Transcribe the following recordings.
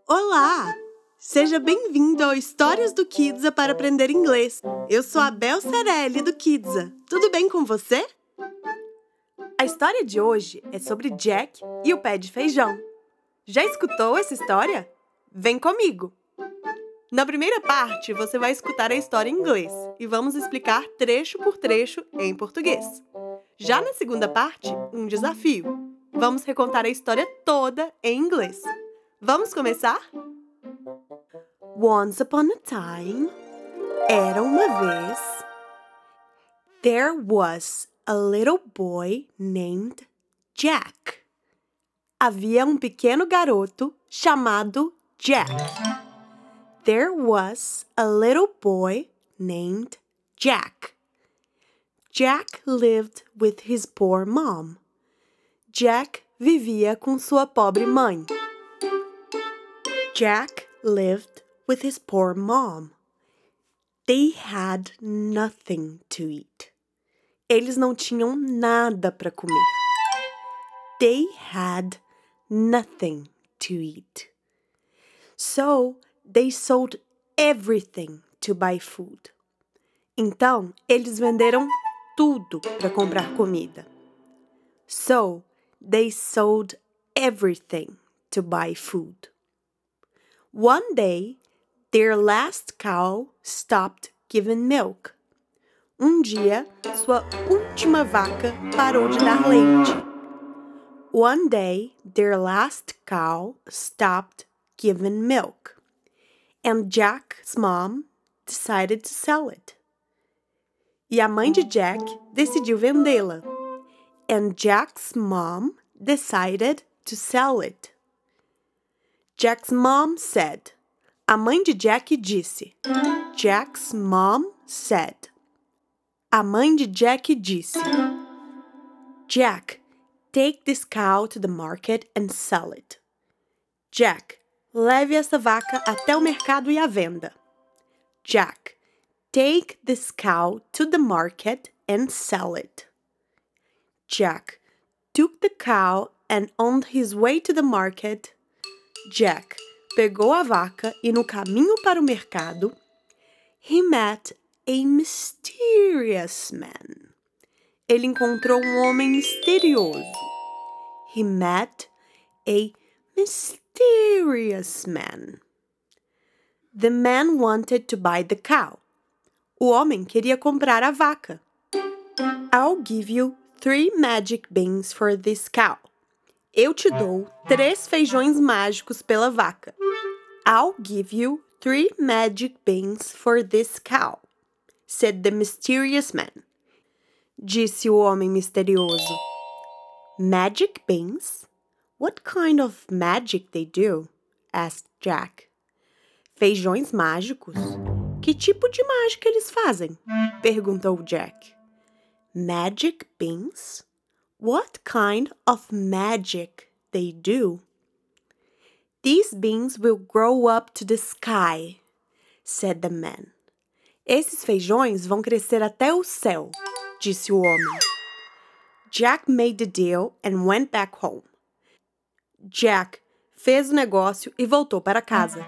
Olá! Seja bem-vindo ao Histórias do Kidsa para aprender inglês. Eu sou a Bel Cerelli do Kidsa. Tudo bem com você? A história de hoje é sobre Jack e o pé de feijão. Já escutou essa história? Vem comigo! Na primeira parte, você vai escutar a história em inglês e vamos explicar trecho por trecho em português. Já na segunda parte, um desafio. Vamos recontar a história toda em inglês. Vamos começar? Once upon a time, era uma vez, there was a little boy named Jack. Havia um pequeno garoto chamado Jack. There was a little boy named Jack. Jack lived with his poor mom. Jack vivia com sua pobre mãe. Jack lived with his poor mom. They had nothing to eat. Eles não tinham nada para comer. They had nothing to eat. So, they sold everything to buy food. Então, eles venderam tudo para comprar comida. So, they sold everything to buy food. One day, their last cow stopped giving milk. Um dia, sua última vaca parou de dar leite. One day, their last cow stopped giving milk. And Jack's mom decided to sell it. E a mãe de Jack decidiu vendê-la. And Jack's mom decided to sell it. Jack's mom said. A mãe de Jack disse. Jack's mom said. A mãe de Jack disse. Jack, take this cow to the market and sell it. Jack, leve essa vaca até o mercado e a venda. Jack, take this cow to the market and sell it. Jack took the cow and on his way to the market, Jack pegou a vaca e no caminho para o mercado, he met a mysterious man. Ele encontrou um homem misterioso. He met a mysterious man. The man wanted to buy the cow. O homem queria comprar a vaca. I'll give you 3 magic beans for this cow. Eu te dou 3 feijões mágicos pela vaca. I'll give you 3 magic beans for this cow, said the mysterious man. Disse o homem misterioso. Magic beans? What kind of magic they do? Asked Jack. Feijões mágicos? Que tipo de mágica eles fazem? Perguntou Jack. Magic beans? What kind of magic they do? These beans will grow up to the sky, said the man. Esses feijões vão crescer até o céu, disse o homem. Jack made the deal and went back home. Jack fez o negócio e voltou para casa.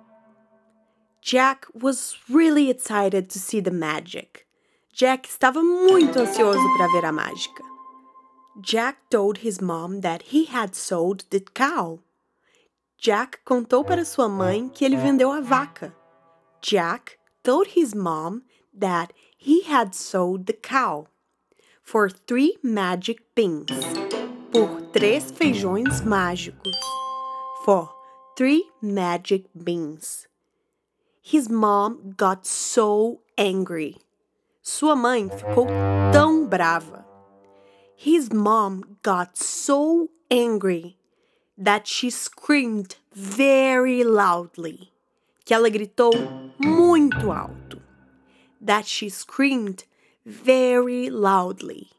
Jack was really excited to see the magic. Jack estava muito ansioso para ver a mágica. Jack told his mom that he had sold the cow. Jack contou para sua mãe que ele vendeu a vaca. Jack told his mom that he had sold the cow for 3 magic beans. Por 3 feijões mágicos. For 3 magic beans. His mom got so angry. Sua mãe ficou tão brava. His mom got so angry that she screamed very loudly. Que ela gritou muito alto. That she screamed very loudly.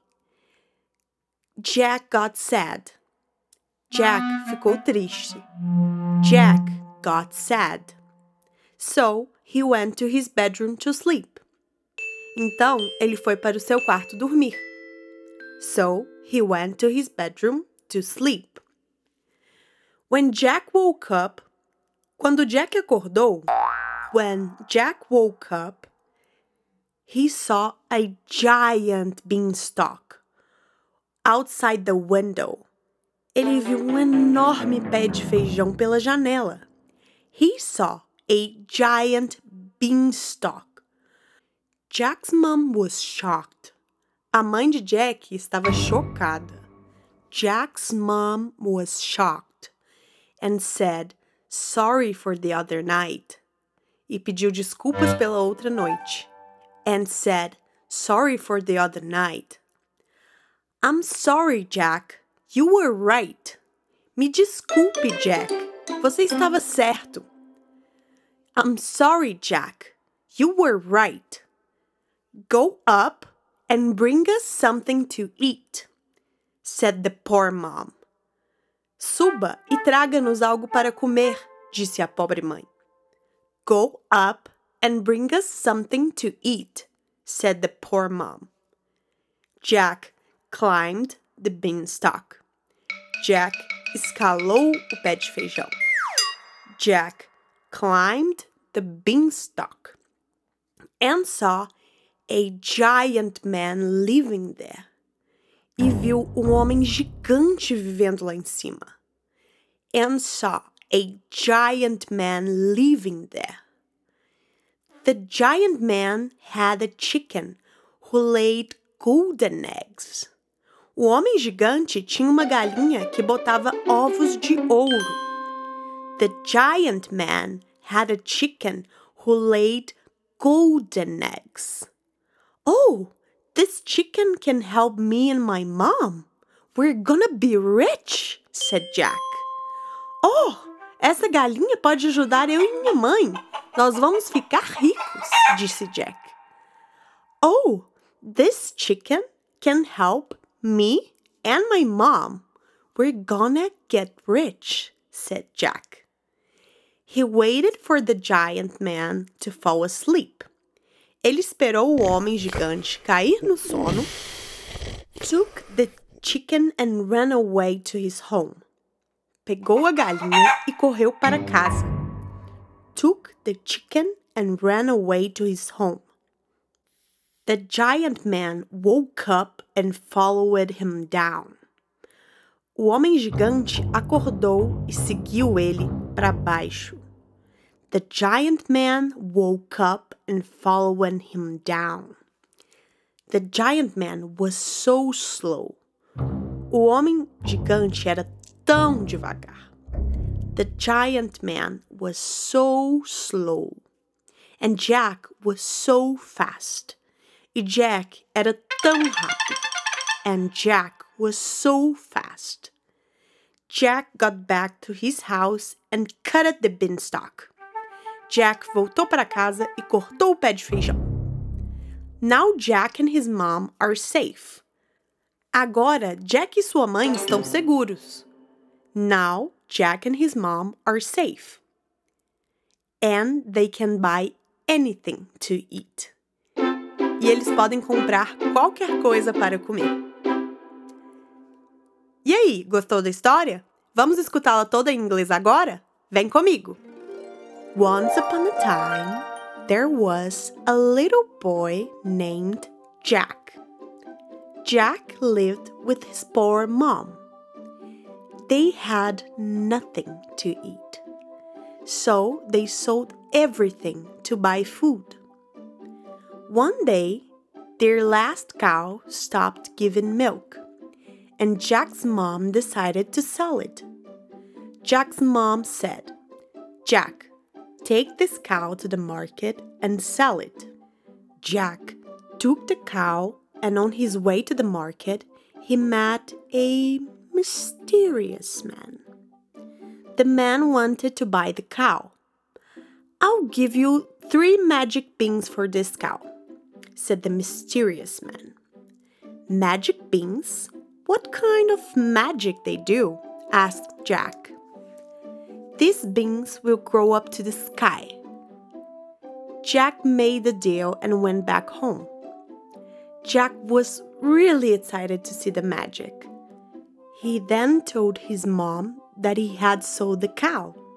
Jack got sad. Jack ficou triste. Jack got sad. So, he went to his bedroom to sleep. Então, ele foi para o seu quarto dormir. So, he went to his bedroom to sleep. When Jack woke up, Quando Jack acordou, when Jack woke up, he saw a giant beanstalk outside the window. Ele viu enorme pé de feijão pela janela. He saw a giant beanstalk. Jack's mom was shocked. A mãe de Jack estava chocada. Jack's mom was shocked and said, "Sorry for the other night." E pediu desculpas pela outra noite. And said, "Sorry for the other night." "I'm sorry, Jack. You were right." Me desculpe, Jack. Você estava certo. "I'm sorry, Jack. You were right. Go up and bring us something to eat," said the poor mom. Suba e traga-nos algo para comer, disse a pobre mãe. Go up and bring us something to eat, said the poor mom. Jack climbed the beanstalk. Jack escalou o pé de feijão. Jack climbed the beanstalk and saw a giant man living there. E viu homem gigante vivendo lá em cima. And saw a giant man living there. The giant man had a chicken who laid golden eggs. O homem gigante tinha uma galinha que botava ovos de ouro. The giant man had a chicken who laid golden eggs. Oh, this chicken can help me and my mom. We're gonna be rich, said Jack. Oh, essa galinha pode ajudar eu e minha mãe. Nós vamos ficar ricos, disse Jack. Oh, this chicken can help me and my mom. We're gonna get rich, said Jack. He waited for the giant man to fall asleep. Ele esperou o homem gigante cair no sono, took the chicken and ran away to his home. Pegou a galinha e correu para casa. Took the chicken and ran away to his home. The giant man woke up and followed him down. O homem gigante acordou e seguiu ele para baixo. The giant man woke up and followed him down. The giant man was so slow. O homem gigante era tão devagar. The giant man was so slow. And Jack was so fast. E Jack era tão rápido. And Jack was so fast. Jack got back to his house and cut at the beanstalk. Jack voltou para casa e cortou o pé de feijão. Now Jack and his mom are safe. Agora Jack e sua mãe estão seguros. Now Jack and his mom are safe. And they can buy anything to eat. E eles podem comprar qualquer coisa para comer. E aí, gostou da história? Vamos escutá-la toda em inglês agora? Vem comigo! Once upon a time, there was a little boy named Jack. Jack lived with his poor mom. They had nothing to eat, so they sold everything to buy food. One day, their last cow stopped giving milk, and Jack's mom decided to sell it. Jack's mom said, "Jack, take this cow to the market and sell it." Jack took the cow, and on his way to the market, he met a mysterious man. The man wanted to buy the cow. "I'll give you 3 magic beans for this cow," said the mysterious man. "Magic beans? What kind of magic they do?" asked Jack. "These beans will grow up to the sky." Jack made the deal and went back home. Jack was really excited to see the magic. He then told his mom that he had sold the cow,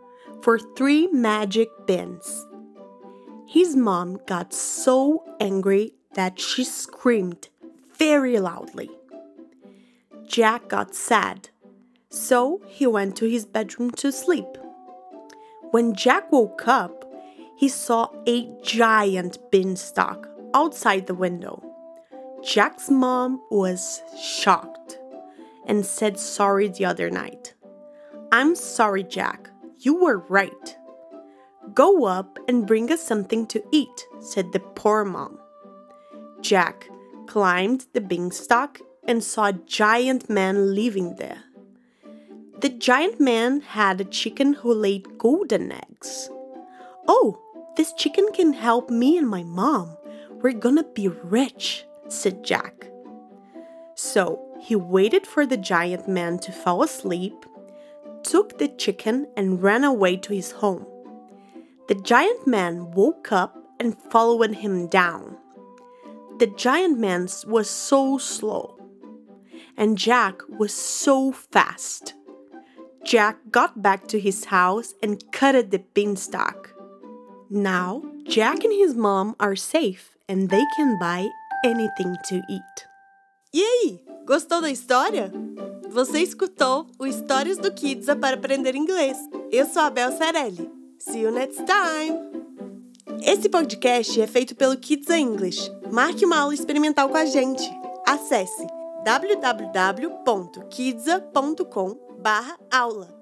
for 3 magic beans. His mom got so angry that she screamed very loudly. Jack got sad, so he went to his bedroom to sleep. When Jack woke up, he saw a giant beanstalk outside the window. Jack's mom was shocked and said sorry the other night. "I'm sorry, Jack. You were right. Go up and bring us something to eat," said the poor mom. Jack climbed the beanstalk and saw a giant man living there. The giant man had a chicken who laid golden eggs. "Oh, this chicken can help me and my mom. We're gonna be rich," said Jack. So he waited for the giant man to fall asleep, took the chicken, and ran away to his home. The giant man woke up and followed him down. The giant man was so slow, and Jack was so fast. Jack got back to his house and cut the beanstalk. Now, Jack and his mom are safe and they can buy anything to eat. E aí, gostou da história? Você escutou o Histórias do Kidsa para aprender inglês. Eu sou a Bel Cerelli. See you next time! Esse podcast é feito pelo Kidsa English. Marque uma aula experimental com a gente. Acesse www.kidsa.com/aula.